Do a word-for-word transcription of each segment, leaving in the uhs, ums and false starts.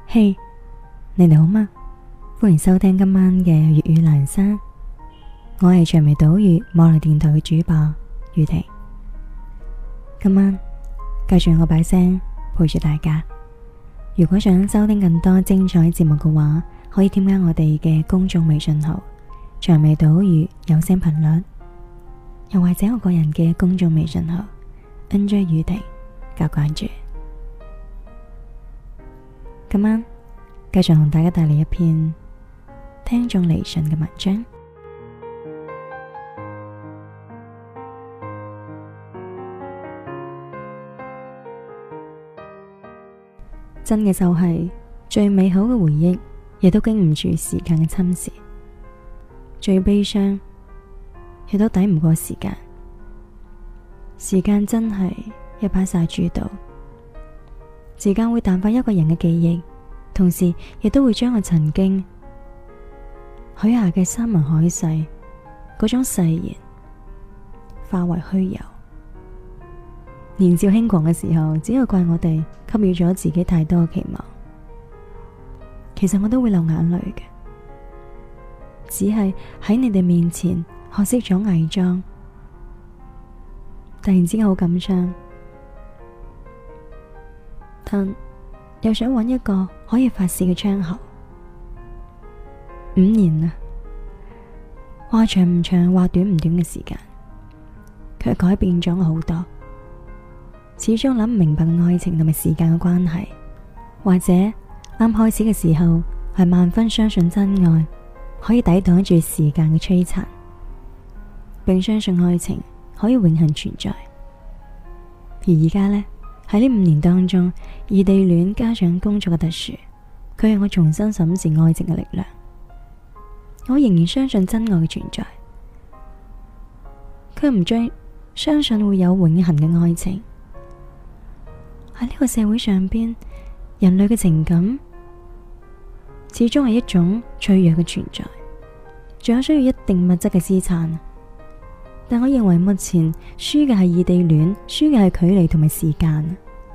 嘿，你哋好嗎？歡迎收聽今晚嘅粵語闌珊，我係長眉島嶼網絡電台嘅主播宇婷。今晚繼續我把聲陪住大家。如果想收聽更多精彩節目嘅話，可以添加我哋嘅公眾微信號長眉島嶼有聲頻率，又或者我個人嘅公眾微信號 N J 宇婷加關注。今晚繼續同大家帶嚟一篇聽眾嚟信嘅文章。真嘅就係最美好嘅回憶，亦都經唔住時間嘅侵蝕；最悲傷，亦都抵唔過時間。時間真係一把殺豬刀，時間會淡化一個人嘅記憶，同時亦都會將我曾經許下嘅山盟海誓嗰種誓言化為虛有。年少輕狂嘅時候，只有怪我哋給予咗自己太多嘅期望。其實我都會流眼淚嘅，只係喺你哋面前學識咗偽裝。突然之間好感傷，但又想揾一個可以發洩嘅窗口。五年啦，話長唔長，話短唔短嘅時間，卻改變咗我好多。始終諗唔明白愛情同埋時間嘅關係，或者啱開始嘅時候係萬分相信真愛可以抵擋住時間嘅摧殘，並相信愛情可以永恆存在。而而家呢，喺呢五年當中，異地戀加上工作嘅特殊，佢係我重新審視愛情嘅力量。我仍然相信真愛嘅存在，卻唔再相信會有永恆嘅愛情。喺呢個社會上邊，人類嘅情感始終係一種脆弱嘅存在，仲有需要一定物質嘅資產。但我認為目前輸嘅係異地戀，輸嘅係距離同埋時間。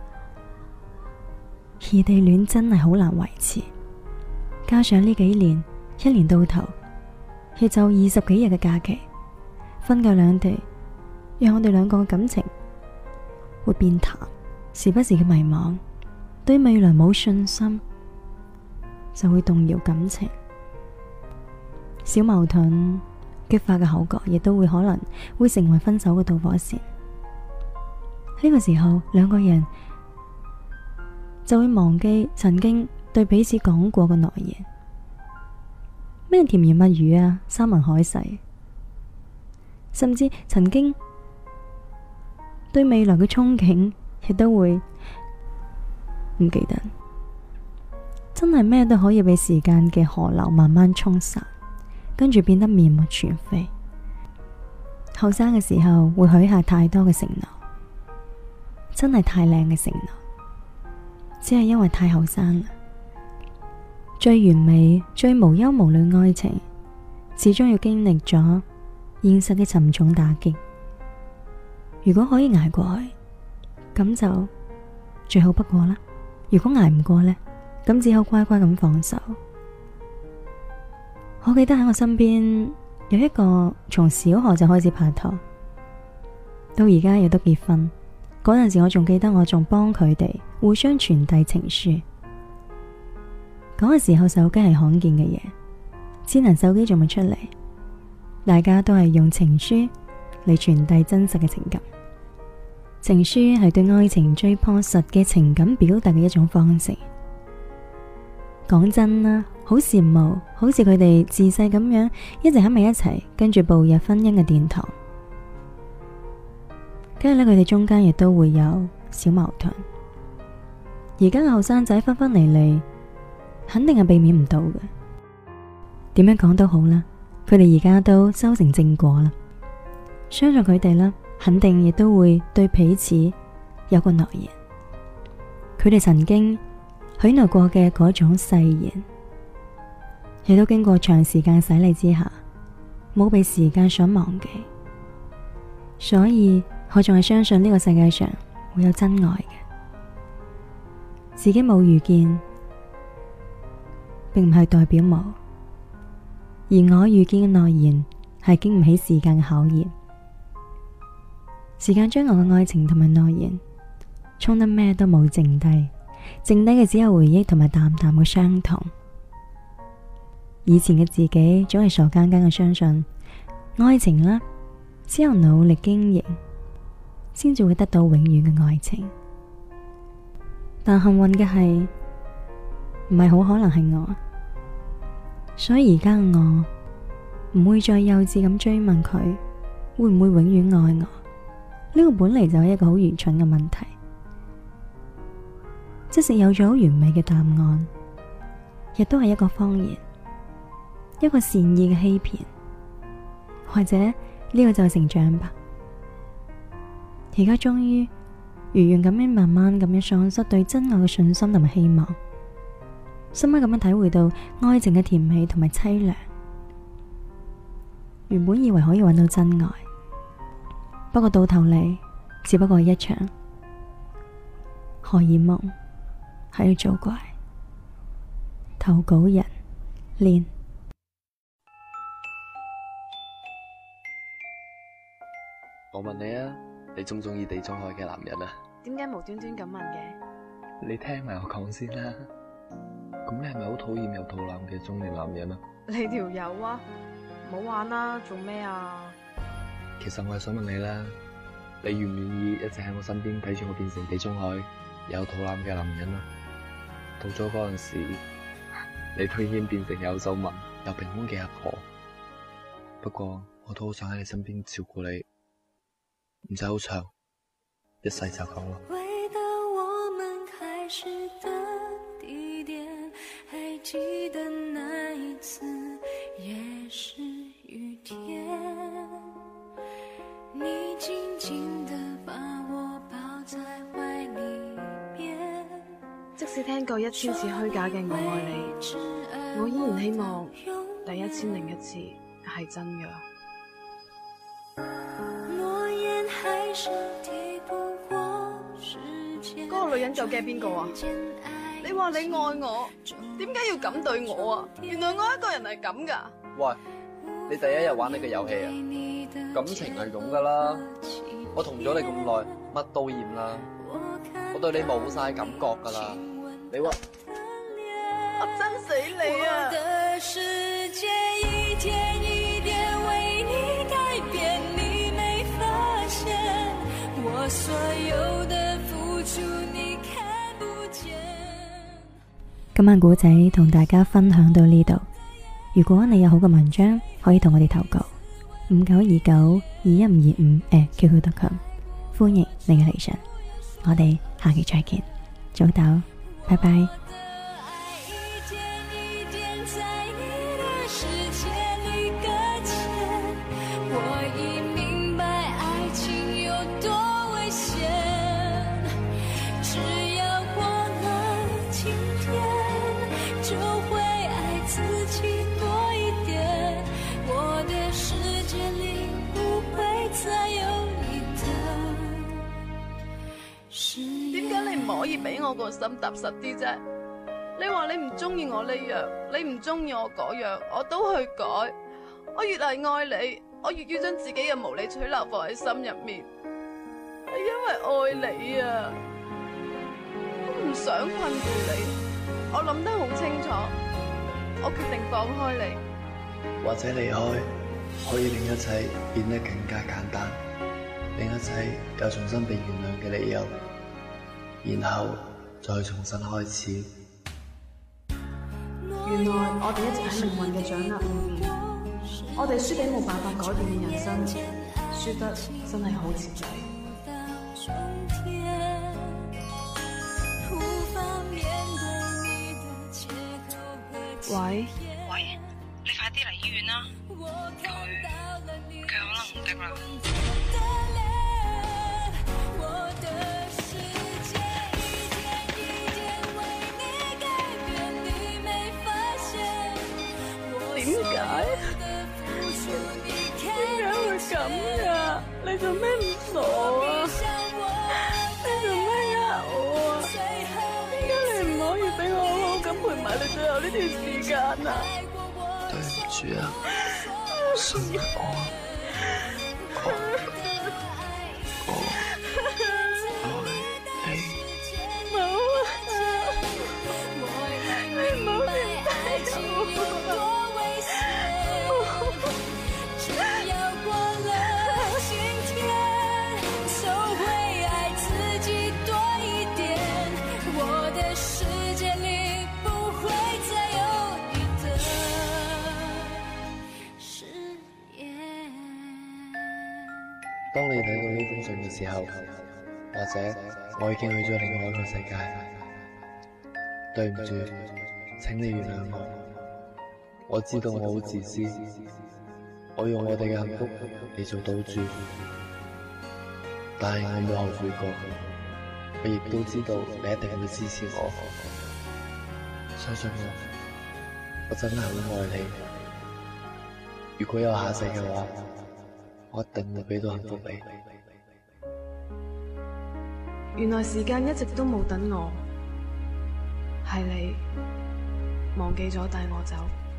異地戀真係好難維持，加上呢幾年一年到頭亦就二十幾日嘅假期，分隔兩地，讓我哋兩個嘅感情會變淡，時不時嘅迷茫，對未來冇信心，就會動搖感情。小矛盾激發嘅口角，亦都會可能會成為分手嘅導火線。呢個時候，兩個人就會忘記曾經對彼此講過嘅諾言，咩甜言蜜語啊，山盟海誓，甚至曾經對未來嘅憧憬，亦都會唔記得。真係咩都可以被時間嘅河流慢慢沖散，跟住變得面目全非。後生嘅時候會許下太多嘅承諾，真係太靚嘅承諾，只係因為太後生啦。最完美、最無憂無慮愛情，始終要經歷咗現實嘅沉重打擊。如果可以捱過去，咁就最好不過啦。如果捱唔過呢，咁只好乖乖咁放手。我記得喺我身邊有一個從小學就開始拍拖，到而家亦都結婚。嗰陣時我仲記得，我仲幫佢哋互相傳遞情書。嗰個時候手機係罕見嘅嘢，智能手機仲未出嚟，大家都係用情書嚟傳遞真實嘅情感。情書係對愛情最樸實嘅情感表達嘅一種方式。講真啦，好羨慕，好似佢哋自細咁樣一直喺埋一齊，跟住步入婚姻嘅殿堂。跟住咧，佢哋中間亦都會有小矛盾。而家嘅後生仔分分離離，肯定係避免唔到嘅。點樣講都好啦，佢哋而家都修成正果啦。相信佢哋啦，肯定亦都會對彼此有個諾言。佢哋曾經許諾過嘅嗰種誓言，亦都經過長時間洗禮之下，冇被時間所忘記。所以我仲係相信呢個世界上會有真愛嘅。自己冇遇見， 並唔係代表冇，而我遇見嘅諾言係經唔起時間嘅考驗。時間將我嘅愛情同埋諾言沖得咩都冇剩低，剩低嘅只有回憶同埋淡淡嘅傷痛。以前嘅自己總係傻更更嘅相信愛情啦，只有努力經營先至會得到永遠嘅愛情。但幸運嘅係唔係好可能係我，所以而家嘅我唔會再幼稚咁追問佢會唔會永遠愛我。呢個本嚟就係一個好愚蠢嘅問題。即使有咗好完美嘅答案，亦都係一個謊言，一個善意嘅欺騙。或者呢個就係成長吧。而家終於如願咁樣慢慢咁樣喪失對真愛嘅信心同埋希望，深刻咁樣體會到愛情嘅甜美同埋淒涼。原本以為可以揾到真愛，不過到頭嚟只不過係一場荷爾蒙喺度做怪。投稿人練。 我問你啊，你中唔中意地中海嘅男人啊？ 點解無端端咁問嘅？ 你聽埋我講先啦。咁你係咪好討厭有肚腩嘅中年男人啊？ 你條友啊，唔好玩啦，做咩啊？ 其實我係想問你啦，你願唔願意一直喺我身邊睇住我變成地中海有肚腩嘅男人啊？到咗嗰陣時，你都已經變成有皺紋有平胸嘅阿婆。不過我都好想喺你身邊照顧你。唔使好長，一世就夠啦。回到我們開始的地點，還記得那一次也是雨天，你緊緊地把我抱在懷裡面。 即使聽過一千次虛假嘅我愛你，我依然希望第一千零一次係真嘅。嗰個女人究竟係邊個啊？你話你愛我，點解要咁對我啊？原來我一個人係咁噶。 喂，你第一日玩呢個遊戲啊？感情係咁噶啦，我同咗你咁耐，乜都厭啦，我對你冇晒感覺噶啦。你話我憎死你啊！ 今晚古仔同大家分享到呢度。如果你有好嘅文章，可以同我哋投稿五九二九二一五二五 at Q Q 點 com， 歡迎你嘅嚟信。我哋下期再見，早唞，拜拜。 可以俾我個心踏實啲啫。你話你唔中意我呢樣，你唔中意我嗰樣，我都去改。我越係愛你，我越要將自己嘅無理取鬧放喺心入面，係因為愛你啊！我唔想困住你，我諗得好清楚，我決定放開你。 或者離開可以令一切變得更加簡單，令一切有重新被原諒嘅理由，然後再重新開始。 原來我哋一直喺命運嘅掌握裏面，我哋輸俾冇辦法改變嘅人生，輸得真係好徹底。喂喂，你快啲嚟醫院啦，佢佢可能唔得啦。 點解？點解會咁噶？你做咩唔傻啊？你做咩呃我啊？點解你唔可以俾我好好咁陪陪埋你最後呢段時間啊！ 對唔住啊，信我，我我愛你。 冇啊，你冇明白我。 當你睇到呢封信嘅時候，或者我已經去咗另外一個世界，對唔住，請你原諒我。我知道我好自私，我用我哋嘅幸福嚟做賭注，但係我冇後悔過。我亦都知道你一定會支持我，相信我，我真係好愛你。如果有下世嘅話，我一定會俾到幸福你。 原來時間一直都冇等我，係你忘記咗帶我走。